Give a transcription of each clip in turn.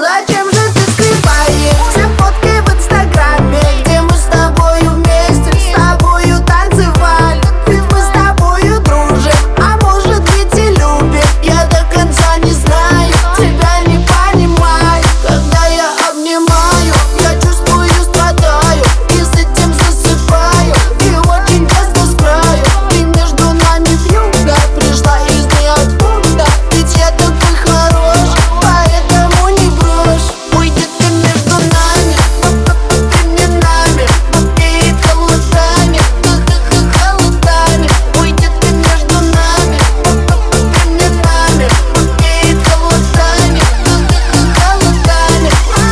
Зачем же ты скрываешь все фотки в инстаграме, где мы с тобою вместе, с тобою танцевали? Ведь мы с тобою дружим, а может быть и любим. Я до конца не знаю, тебя не понимаю. Когда я обнимаю, я чувствую, страдаю, и с этим засыпаю, и очень часто с краю. Ты между нами вьюга пришла из ниоткуда, ведь я такой хороший, поэтому не брошь. Уйдет ты между нами, временами, повеет холодами, холодами. Уйдет ты между нами, временами, повеет холодами, холодами.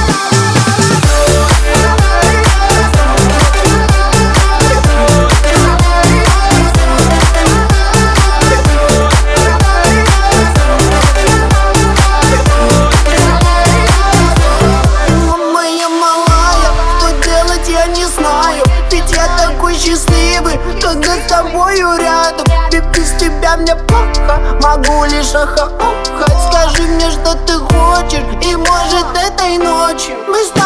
Моя малая, что делать я не знаю, ведь я такой счастливый, когда с тобою рядом. Ведь без тебя мне плохо, могу лишь охать. Скажи мне, что ты хочешь, и может этой ночью мы с тобой